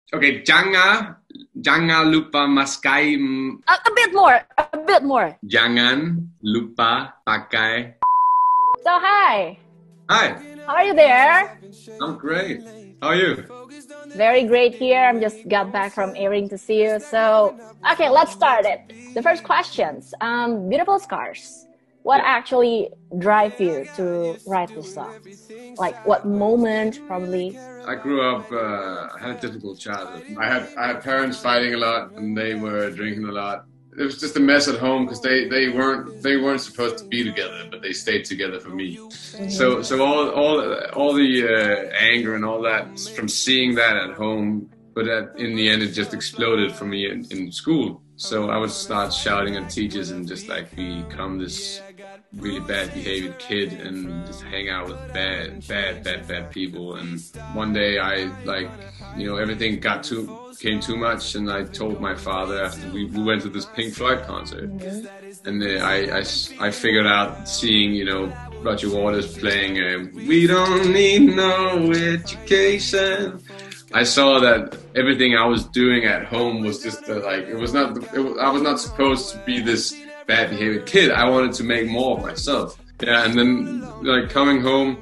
Okay, jangan lupa maskai. A bit more. A bit more. Jangan lupa pakai. So hi. Hi, How are you there? I'm great. How are you? Very great here. I'm just got back from airing to see you. So, okay, let's start it. The first questions. Beautiful Scars. What actually drive you to write this song? Like what moment, probably? I grew up. I had a difficult childhood. I had parents fighting a lot, and they were drinking a lot. It was just a mess at home because they weren't supposed to be together, but they stayed together for me. Mm-hmm. So all the anger and all that from seeing that at home, but in the end it just exploded for me in school. So I would start shouting at teachers and just like become this really bad behaved kid and just hang out with bad people. And one day I everything came too much, and I told my father after we went to this Pink Floyd concert, and I figured out seeing Roger Waters playing "We Don't Need No Education." I saw that everything I was doing at home was just I was not supposed to be this bad behaved kid. I wanted to make more of myself. Yeah, and then coming home,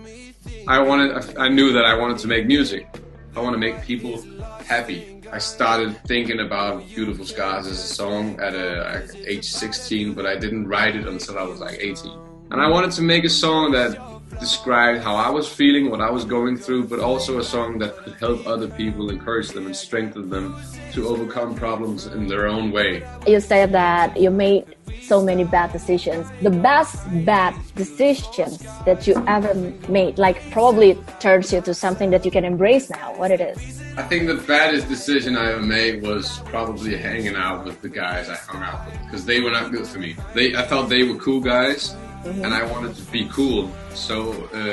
I knew that I wanted to make music. I want to make people happy. I started thinking about Beautiful Scars as a song at age 16, but I didn't write it until I was like 18. And I wanted to make a song that described how I was feeling, what I was going through, but also a song that could help other people, encourage them and strengthen them to overcome problems in their own way. You said that you made so many bad decisions. The best bad decisions that you ever made, like probably turns you to something that you can embrace now, what it is? I think the baddest decision I ever made was probably hanging out with the guys I hung out with, because they were not good for me. I thought they were cool guys. Mm-hmm. And I wanted to be cool, so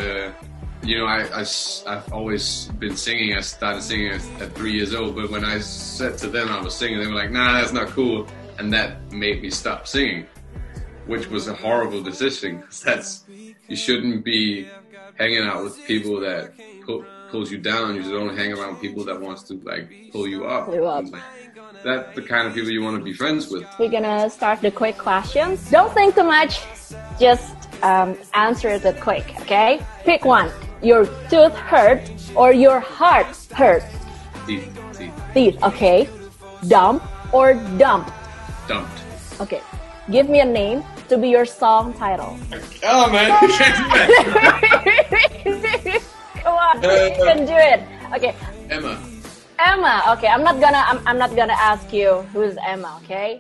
I've always been singing. I started singing at 3 years old, but when I said to them I was singing, they were like, "Nah, that's not cool," and that made me stop singing, which was a horrible decision. You shouldn't be hanging out with people that pulls you down. You should only hang around people that wants to pull you up. That's the kind of people you want to be friends with. We're gonna start the quick questions. Don't think too much. Just answer it quick, okay? Pick one. Your tooth hurt or your heart hurt? Teeth. Teeth, okay. Dump or dump? Dumped. Okay. Give me a name to be your song title. Oh man, you can't do that. Come on, you can do it. Okay. Emma, okay. I'm not gonna ask you who's Emma, okay?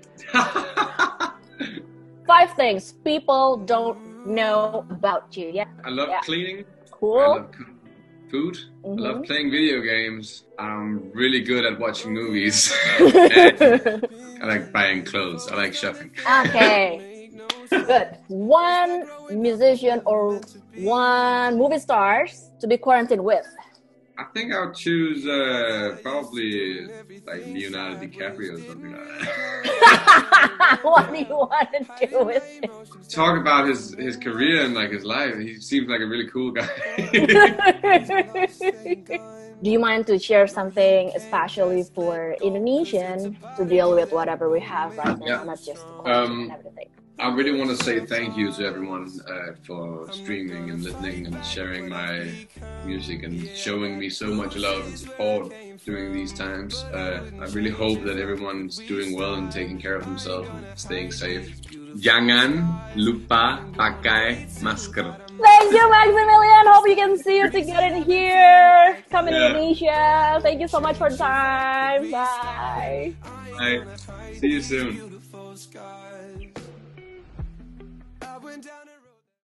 5 things people don't know about you. Yeah. I love cleaning. Cool. I love food. Mm-hmm. I love playing video games. I'm really good at watching movies. I like buying clothes. I like shopping. Okay. Good. One musician or one movie stars to be quarantined with? I think I'll choose probably Leonardo DiCaprio or something like that. What do you want to do with it? Talk about his career and his life. He seems like a really cool guy. Do you mind to share something especially for Indonesian to deal with whatever we have right now, not just the question and everything? I really want to say thank you to everyone for streaming and listening and sharing my music and showing me so much love and support during these times. I really hope that everyone's doing well and taking care of themselves and staying safe. Jangan lupa pakai masker. Thank you, Maximilian. Hope you can see you together here. Come in Indonesia. Thank you so much for the time. Bye. Bye. See you soon.